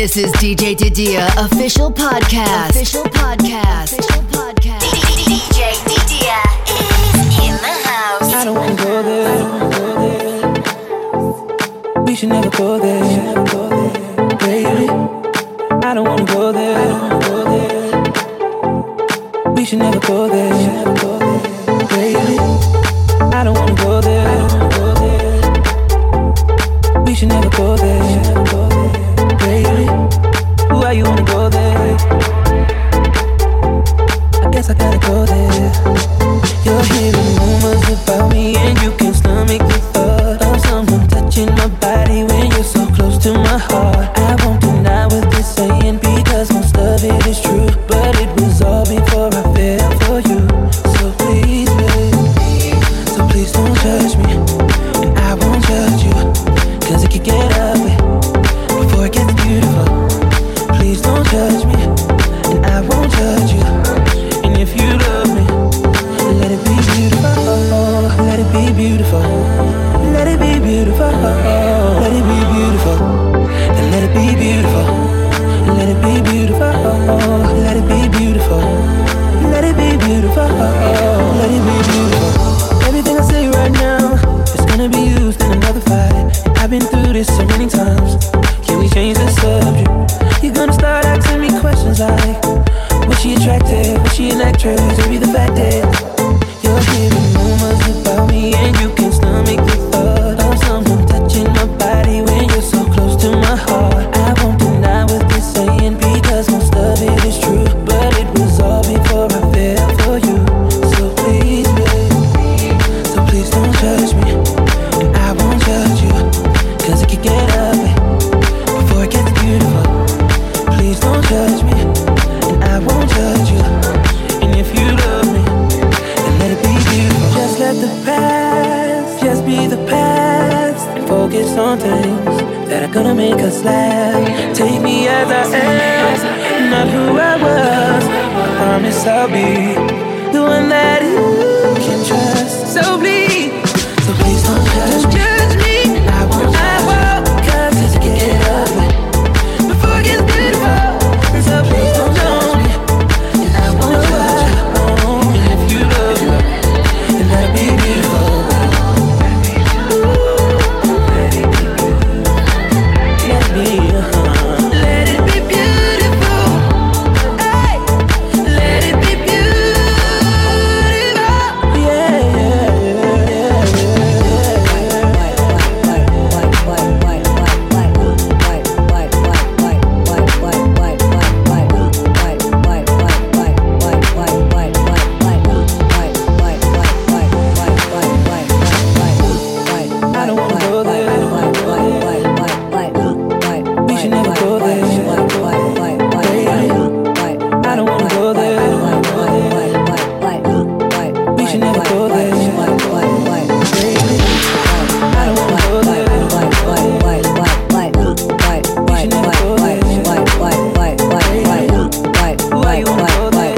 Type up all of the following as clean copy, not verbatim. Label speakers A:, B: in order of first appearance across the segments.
A: This is DJ Didia official podcast. DJ Didia is in the house.
B: I don't wanna go there. We should never go there, baby. I don't wanna go there. We should never go there, baby. I don't wanna go there. We should never go there, baby. Why you wanna go there? I guess I gotta go there. You're hearing rumors about me and you can't stomach the thought of someone touching my body when you're so close to my heart. I won't deny what they're saying because most of it is true, but it was all before I fell for you. So please, babe, so please don't judge me, and I won't judge you, cause it could get ugly before it gets beautiful. Please don't judge me, and I won't judge you. And if you love me, let it be beautiful. Let it be beautiful. Let it be beautiful. Let it be beautiful. And let it be beautiful. Let it be beautiful. Let it be beautiful. Let it be beautiful. Let it be beautiful. Everything I say right now is gonna be used in another fight. I've been through this so many times. Can we change the subject? You're gonna start asking me questions like, was she attractive? Was she an actress? Maybe the fact that you're hearing rumors about me and you can't stomach the thought of someone touching my body when you're so close to my heart. I won't deny what they're saying because most of it is true, but it was all before I fell for you. So please, babe, so please don't judge me, and I won't judge you, cause it could get ugly before it gets beautiful. Please don't judge me, and I won't judge you. And if you love me, then let it be beautiful. Just let the past just be the past, and focus on things that are gonna make us laugh. Take me as I am, not who I was. I promise I'll be the one that you can trust. So please don't judge me. I won't, cause it can get ugly before it gets beautiful. So please don't judge me, and I won't judge you. And if you love me, then let it be beautiful. Let it be beautiful. Let it be beautiful. Hey, let it be beautiful. I don't wanna go there. We should never go there. I don't wanna go there. We should never go there. I don't wanna go there. We should never go there. Why you wanna go there?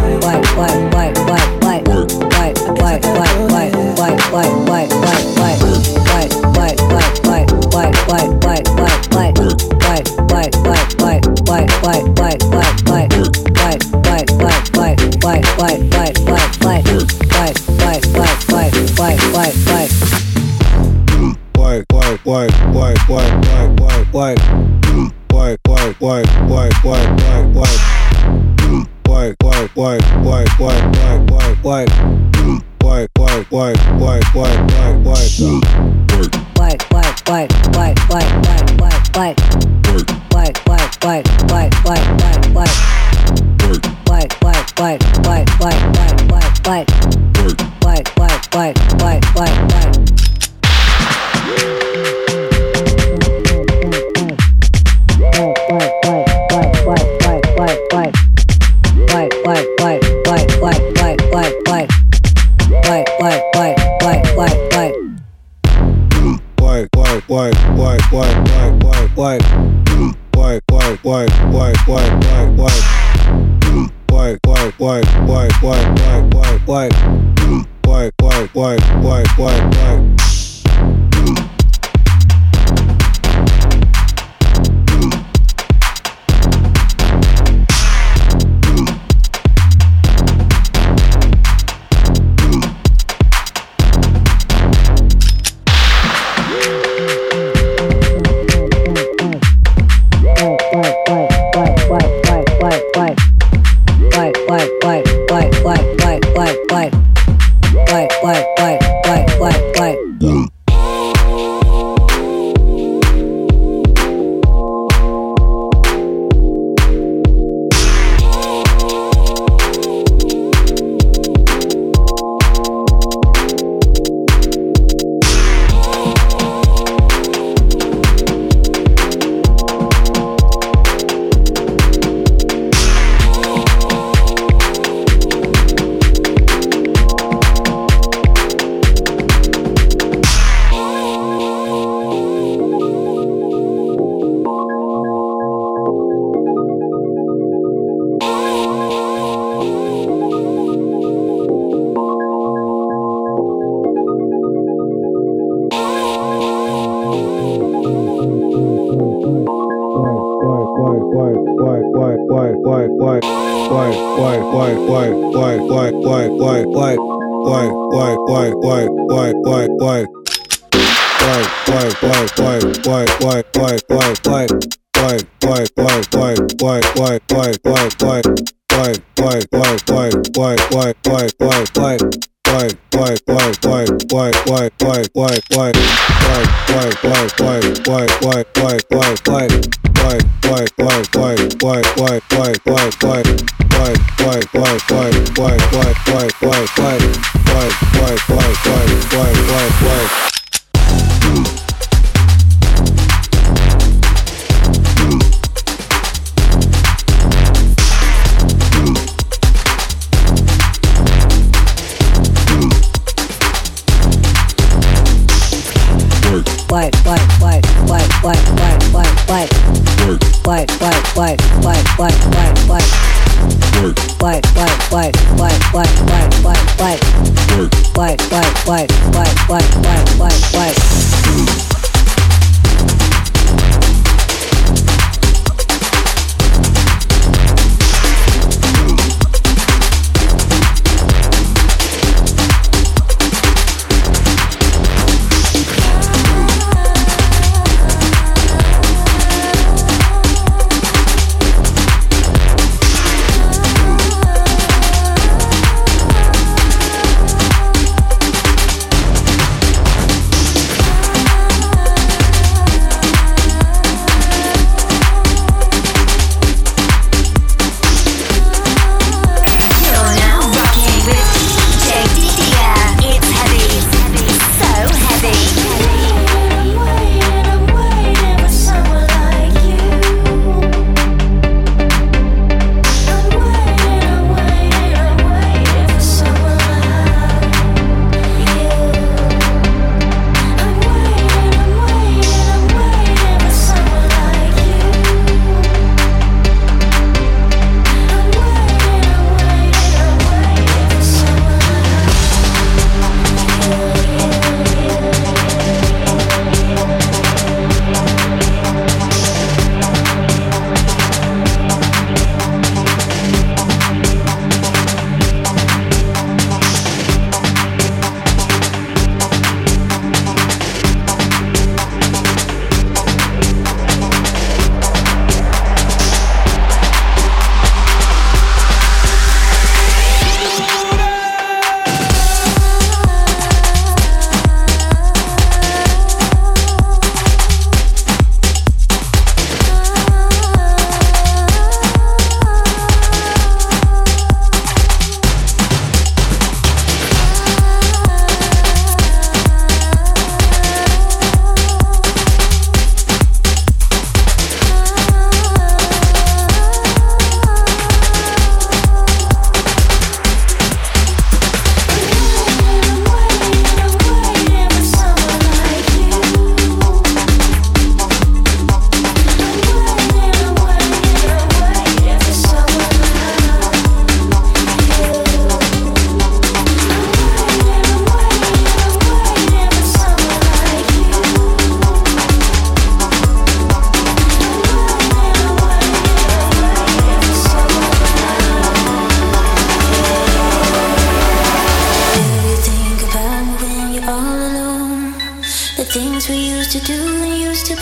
C: things we used to do and used to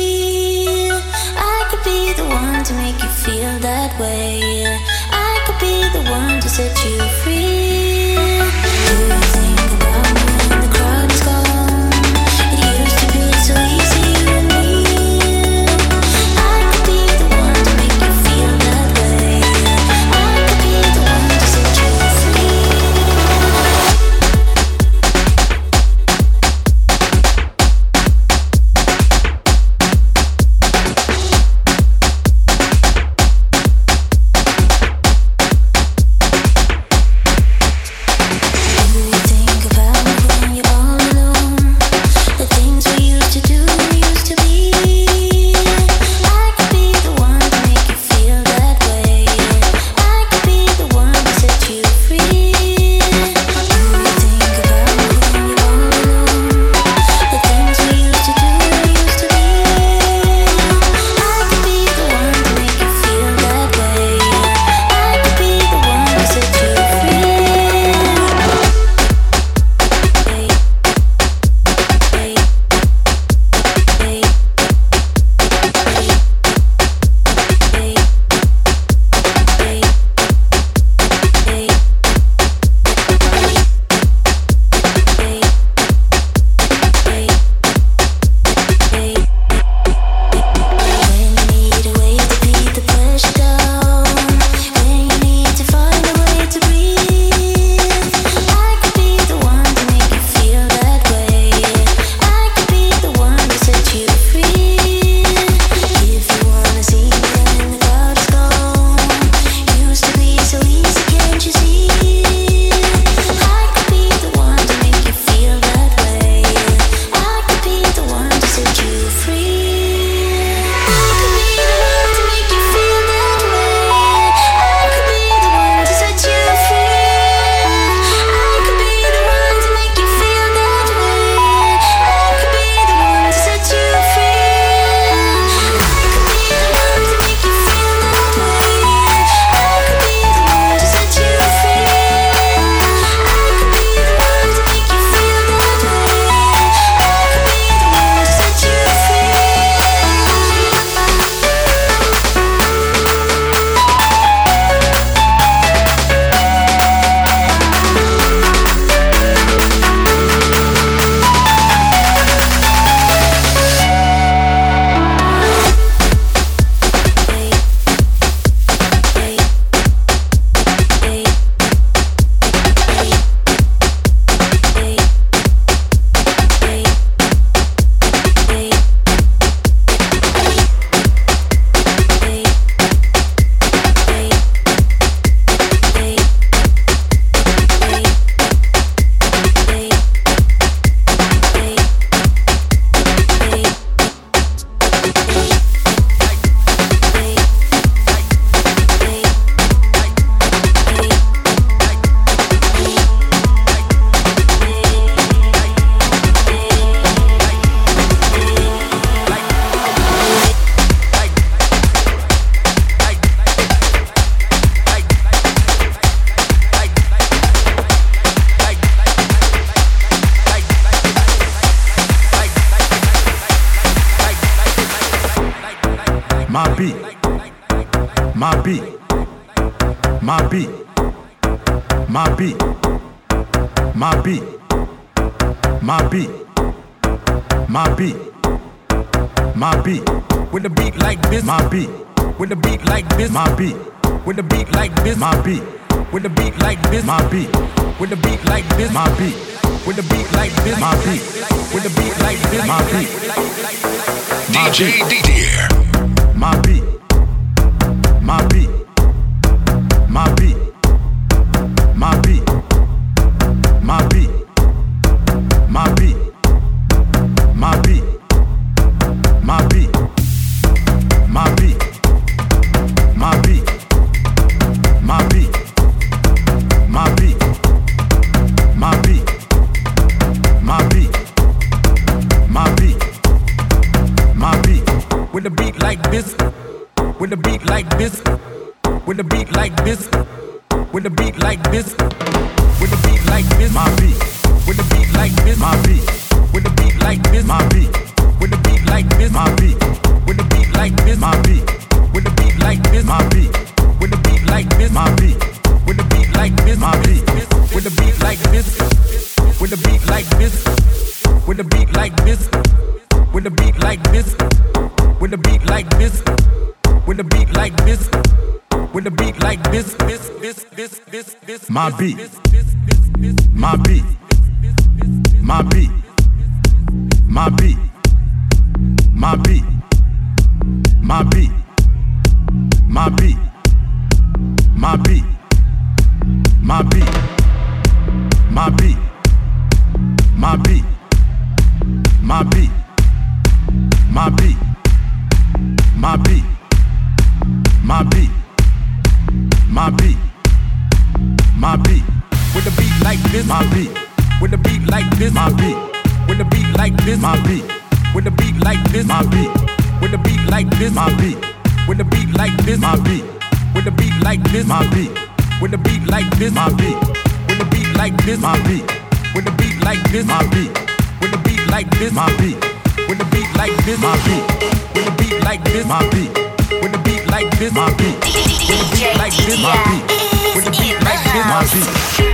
C: be. I could be the one to make you feel that way. I could be the one to set you free. Do you think about
D: beat, my beat, my beat, my beat, my beat, my beat, my beat, my beat.
E: With a beat like this,
D: my beat.
E: With a beat like this,
D: my beat.
E: With a beat like this,
D: my beat.
E: With a beat like this,
D: my beat.
E: With a beat like this,
D: my beat.
E: With a beat like this,
D: my beat.
E: With a beat like this,
D: my beat.
F: DJ Didier.
D: My beat. My beat. My beat. My beat. My beat. My beat. My beat. My beat. My beat. My beat. My beat. My beat. My beat. My beat. My beat. My beat.
E: With a beat like this, with a beat like this, with a beat like this, with a beat like this, with a beat like this,
D: my beat.
E: With a beat like this,
D: my beat.
E: With a beat like this,
D: my beat.
E: With a beat like this,
D: my beat.
E: With a beat like this,
D: my beat.
E: With a beat like this,
D: my beat.
E: With a beat like this,
D: my beat.
E: With a beat like this,
D: my beat.
E: With a beat like this, with a beat like this, with a beat like this, with a beat like this, with a beat like this, with a beat like this, with a beat like this,
D: my beat, my beat, my beat, my beat, my beat, my beat, my beat, my beat, my beat, my beat, my beat, my beat, my beat, my beat, my beat, my beat, my beat.
E: With a beat like this,
D: my beat.
E: With a beat like this,
D: my beat.
E: With a beat like this,
D: my beat.
E: With a beat like this,
D: my beat.
E: With a beat like this,
D: my beat.
E: With a beat like this,
D: my beat.
E: With a beat like this,
D: my beat.
E: With a beat like this,
D: my beat.
E: With a beat like this,
D: my beat.
E: With a beat like this,
D: my beat.
E: With a beat like this,
D: my beat.
E: With a beat like this,
D: my beat.
E: With a beat like this,
D: my beat.
E: With a beat like this,
D: my beat.
A: DJ
E: like this,
A: Didier
E: With a
A: is
E: beat
A: in the
E: like this,
D: my
A: house.
D: beat.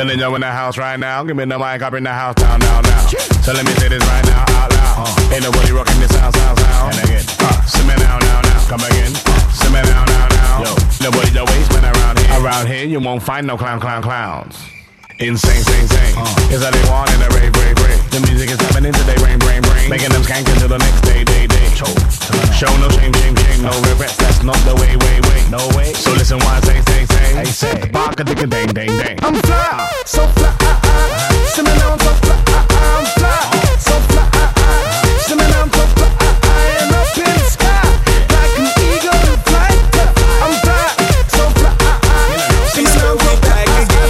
E: Telling you in the house right now. Give me the mic up in the house now. So let me say this right now out loud. Ain't nobody rocking this sound. And again, simmer now. Come again, simmer now. Yo, nobody the waste man around here. Around here you won't find no clowns. Insane. Is that they want in a rave. The music is happening today, brain. Making them skank until the next day. Show no shame, no regrets. That's not the way. No way. So listen what I say. Bark a dick a dang. I'm fly, so fly. Simmer down, so fly. I'm fly, so fly. Simmer down, so fly. I'm up in the sky like an eagle in flight. I'm fly, so fly. Simmer down, so fly.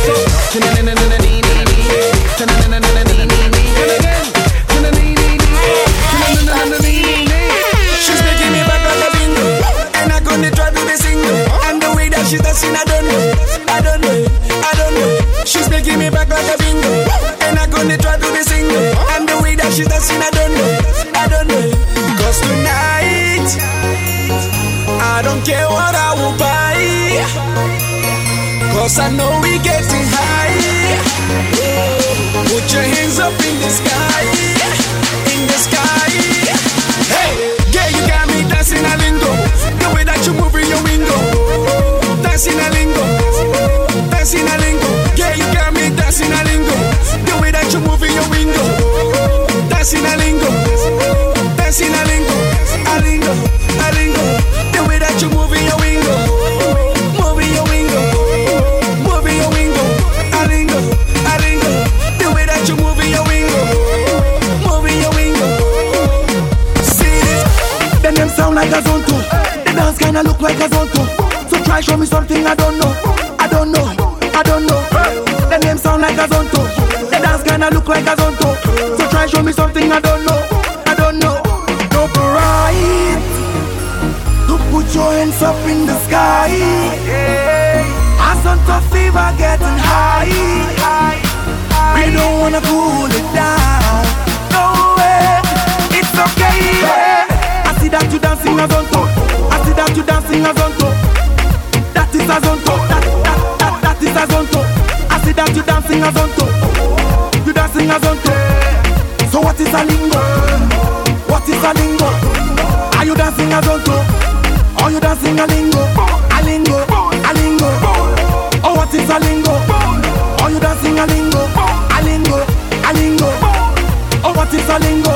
E: She's making me back like a bingo, and I'm gonna try to be single. And the way that she's dancing, I don't know. She's making me back like a bingo, and I'm gonna try to be single. And the way that she's dancing, I don't know. Cause tonight, I don't care what I will buy, cause I know we getting high. Put your hands up in the sky. Hey, yeah, you got me dancing a lingo. The way that you move in your window. Dancing a lingo. Yeah, you got me dancing a lingo. The way that you move in your window. Dancing a lingo. The way that you move in your window. Moving your window. A lingo. The way that you move in your window. Moving your window. See this? Then them sound like a zonto. The dance kinda look like a zonto. So try show me something I don't know. The name sound like a zonto. The dance kinda look like a zonto. So try show me something I don't know. Don't be right to put your hands up in the sky. A zonto fever getting high. We don't wanna cool it down. No way, it's okay. I see that you dancing a zonto. That is a zonto. That is a zonto. I see that you dancing a zonto. So what is a lingo? Are you dancing a zonto? Are you dancing a lingo? A lingo. Oh, what is a lingo? Are you dancing a lingo? A lingo. Oh, what is a lingo?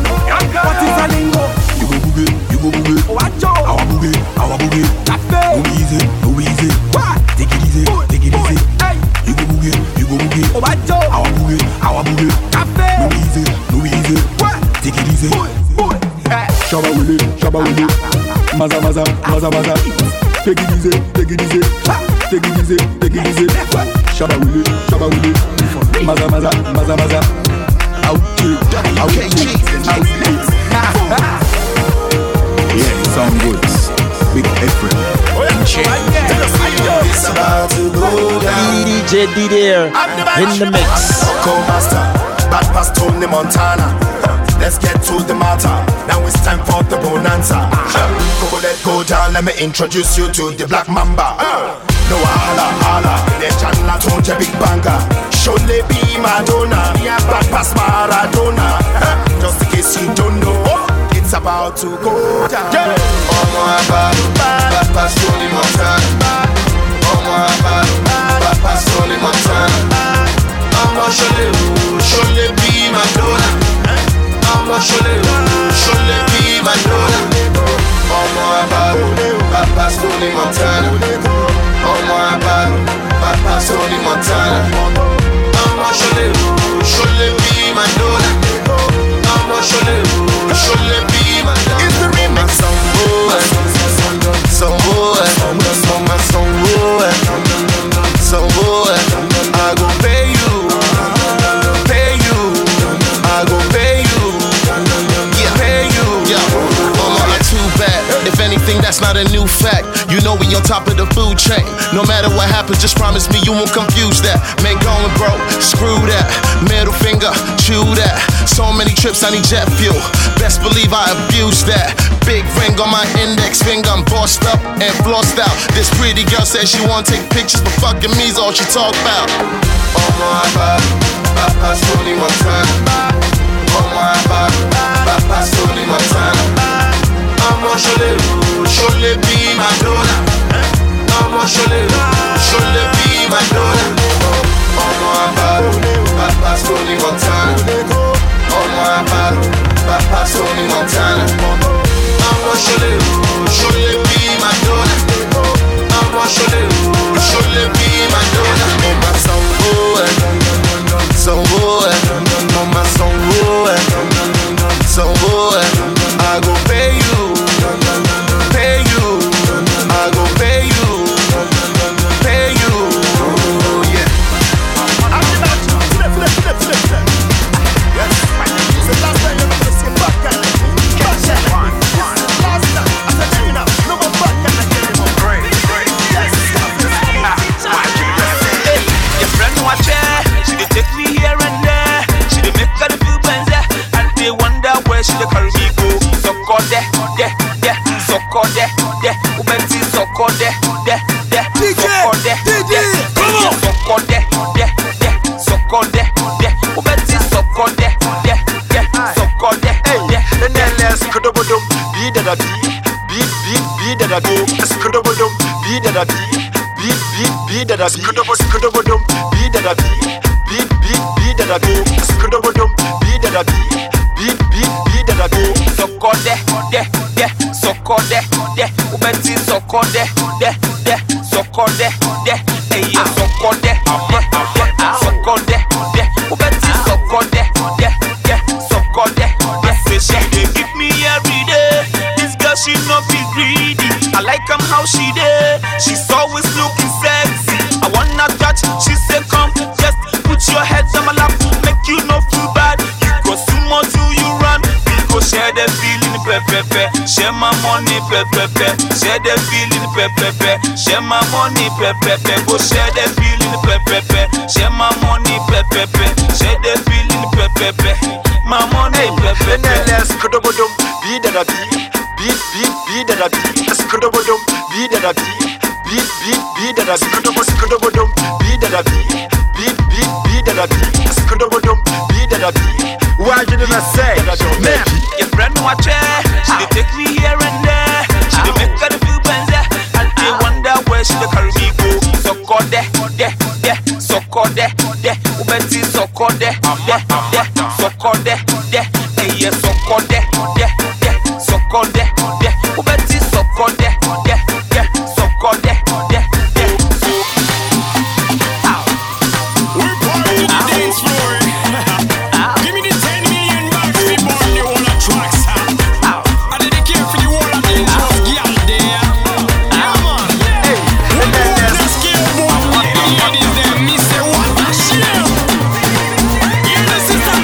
E: You go boogie. Watch out. Our boogie. No easy. What? Take it easy. Hey. You go boogie. Watch out. Our boogie. No easy. What? Take it easy. Shabba willy. Maza. Take it easy. Shabba willy. Maza. Out. Yeah, it sound good. Big effort. It's about to go down.
G: DJ Didier in the mix.
H: Co-master, bad pass Tony Montana. Let's get to the matter. Now it's time for the bonanza. Go down, let me introduce you to the Black Mamba. No holla, the channel told you big banger. Surely be Madonna, bad pass Maradona. Just in case you don't know, it's about to go down. Bad pass Tony Montana. Bad pass Tony Montana. Surely be Madonna. Surely be Madonna. Bad pass Tony Montana. Bad pass Tony Montana. Surely be Madonna. Surely be Madonna. It's the remix song.
I: that's not a new fact. You know we on top of the food chain. No matter what happens, just promise me you won't confuse that. Man going broke, screw that. Middle finger, chew that. So many trips, I need jet fuel. Best believe I abuse that. Big ring on my index finger, I'm bossed up and flossed out. This pretty girl says she wanna take pictures, but fucking me's all she talk about. Oh my God, Papa Tony Montana. Oh my God, Papa Tony Montana. I'ma surely be my donor. I'ma surely be my donor. Oh my God, Papa Tony Montana. Oh my God, Papa Tony Montana. I'ma surely be my donor. I'ma surely be my donor. Oh my song, mama so I go pay you, I go pay you, yeah. Yes. It's the last time you're gonna see a back guy. Catch that. Last time. I said, check it out. No more back guy anymore. Great. Yes.
J: Hey, your friend watch her. She dey take me here and there. She dey make her feel better, and they wonder where she dey carry me go. So call there, so call there, Ubenti so call there, so call there, come on, so call there, so call there, Ubenti so call there, so call there.
I: And then let's go to the beat that I beat that I go. Let's go to the beat that I beat that I beat that I beat that I go. Let's go to the beat that I beat that I go.
J: So call there, so call there, Ubenti so call there, so call there, hey yeah, so call there, so call there, Ubenti so call there, so call there. Say she dey give me every day. This girl she no be greedy. I like how she dey. She's always looking sexy. I wanna touch. She say come, just put your head on my lap, make you no feel bad. You go sumo till you run. We go share the feeling, pepe. Share my money, pepe. Share the feeling, pepe. Share my money, pepe. Go share the feeling, pepe. Share my money, pepe. Share the feeling, pepe. My money, pepe.
I: Let's go to the beat that I beat that I beat. Let's go to the beat that I beat that I beat. Let's go to the beat that I beat that I beat. Let's go to the beat that I beat. Why didn't I say?
J: Man, your friend watch her. She dey take me here and there. She dey make her feel better, and they wonder where she dey carry me go. So call there, so call there, Ubenti so call there, so call there, hey yeah, so call there, so call there, Ubenti so call there, so call there.
E: We're part of the dance floor. Give me the 10 million bucks, we born the whole of tracks. I dedicate for the whole of dangerous girl there. Yeah, man. We're born to scale, boy. The ladies, them, me say, what a shame. Hear the sister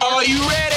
J: Are you ready?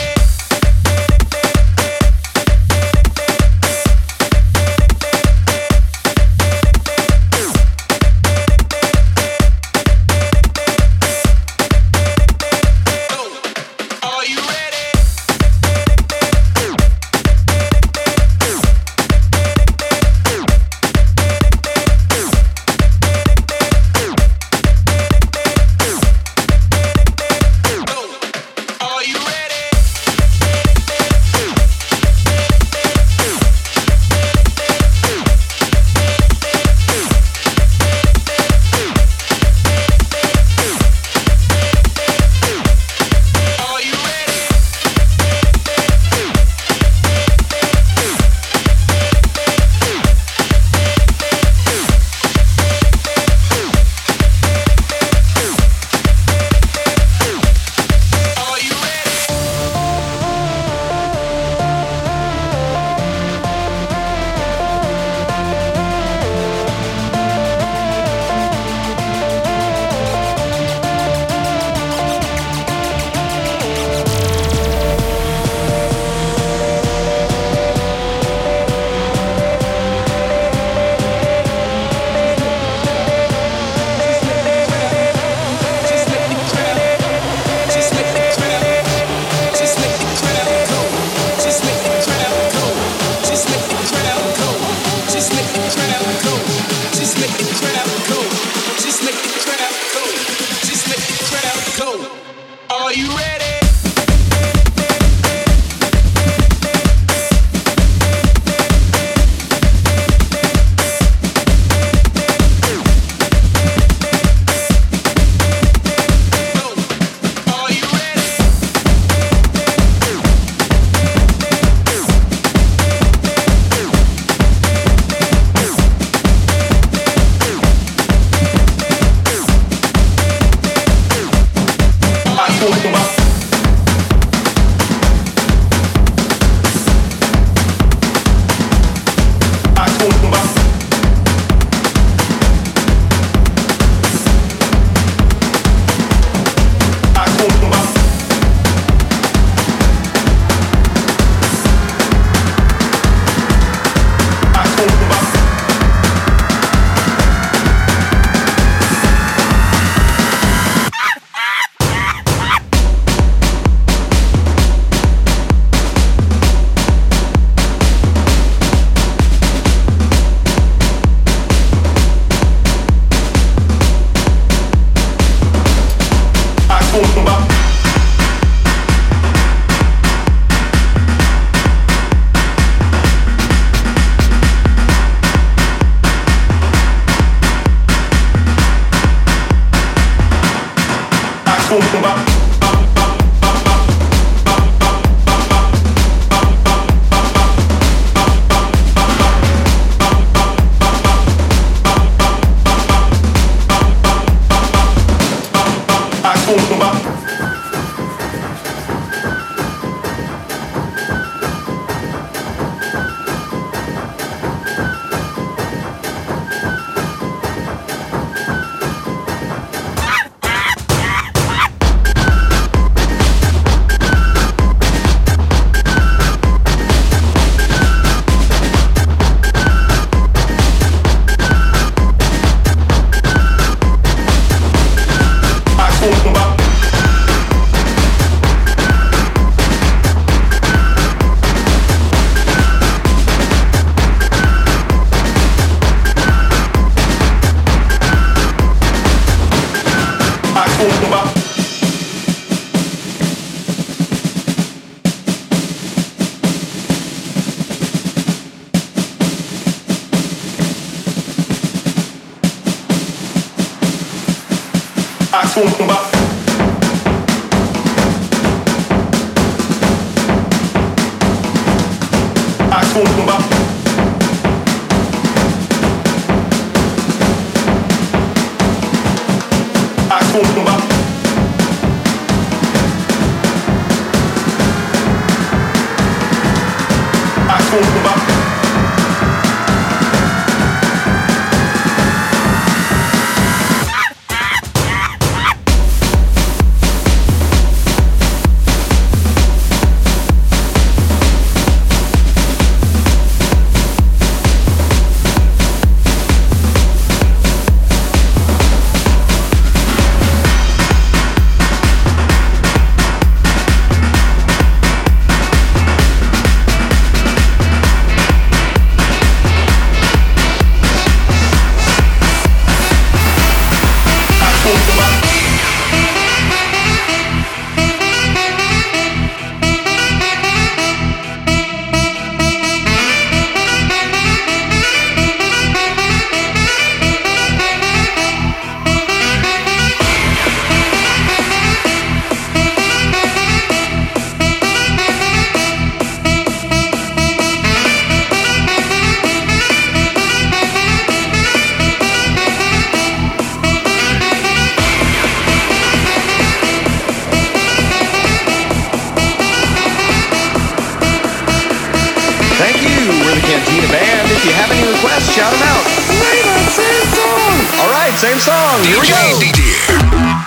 K: Cantina Band. If you have any requests, shout them out. Play that same song. All right, same song. Here we go.
F: DJ.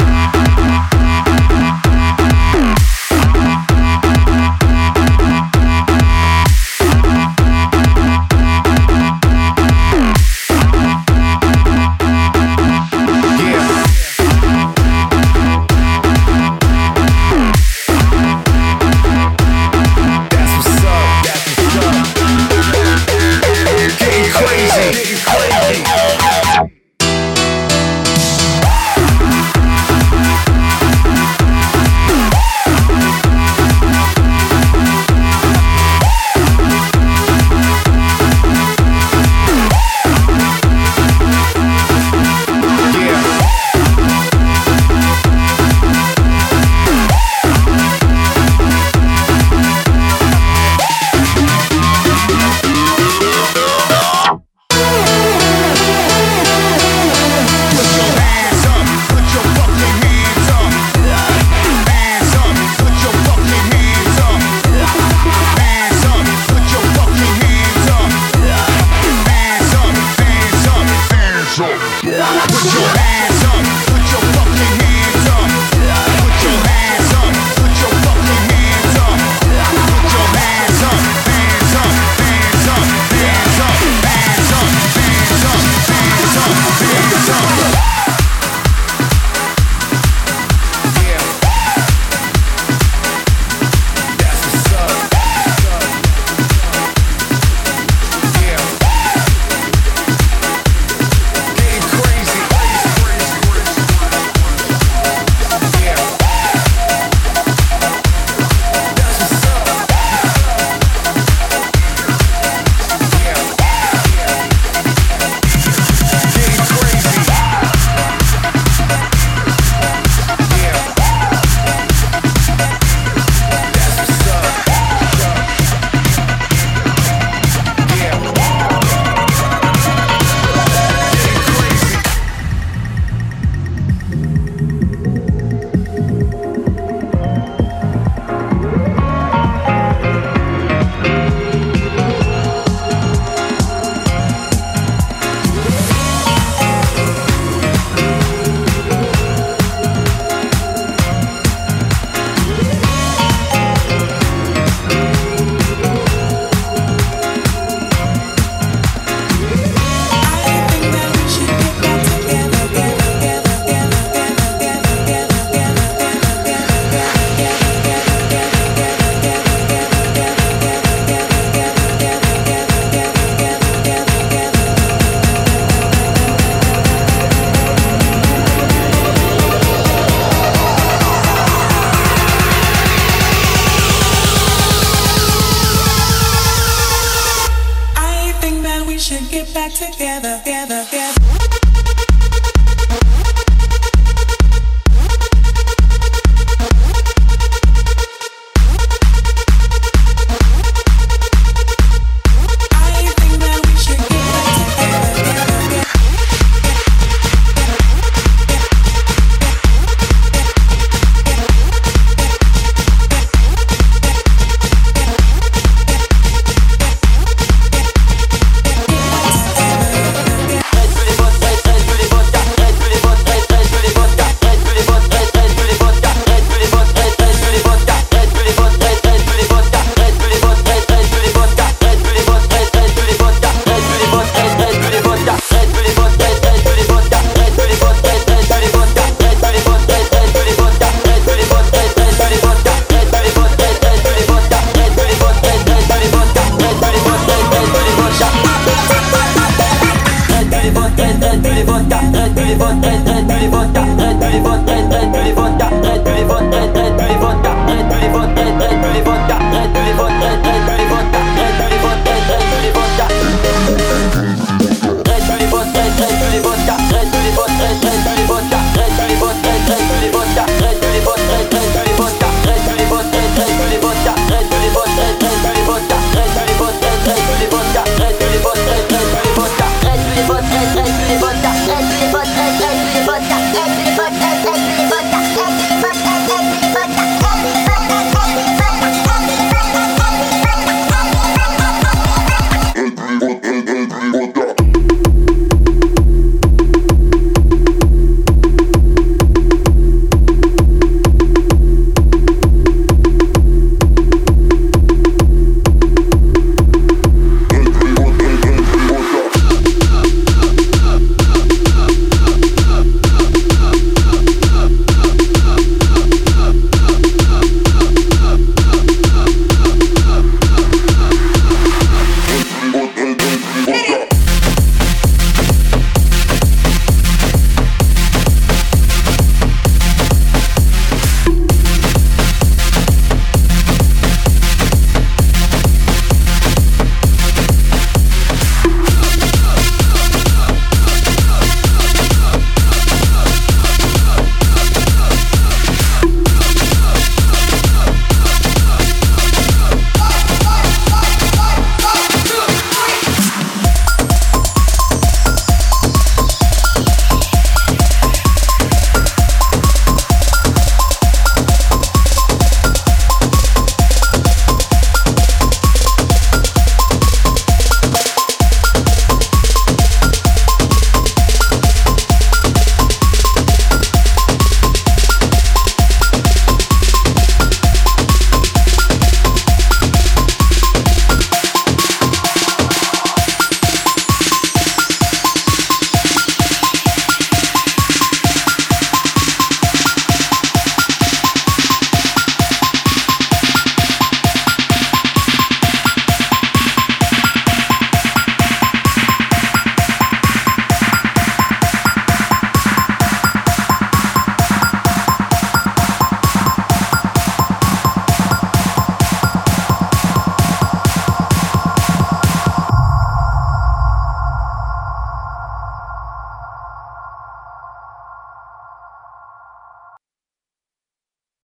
B: should get back together, together.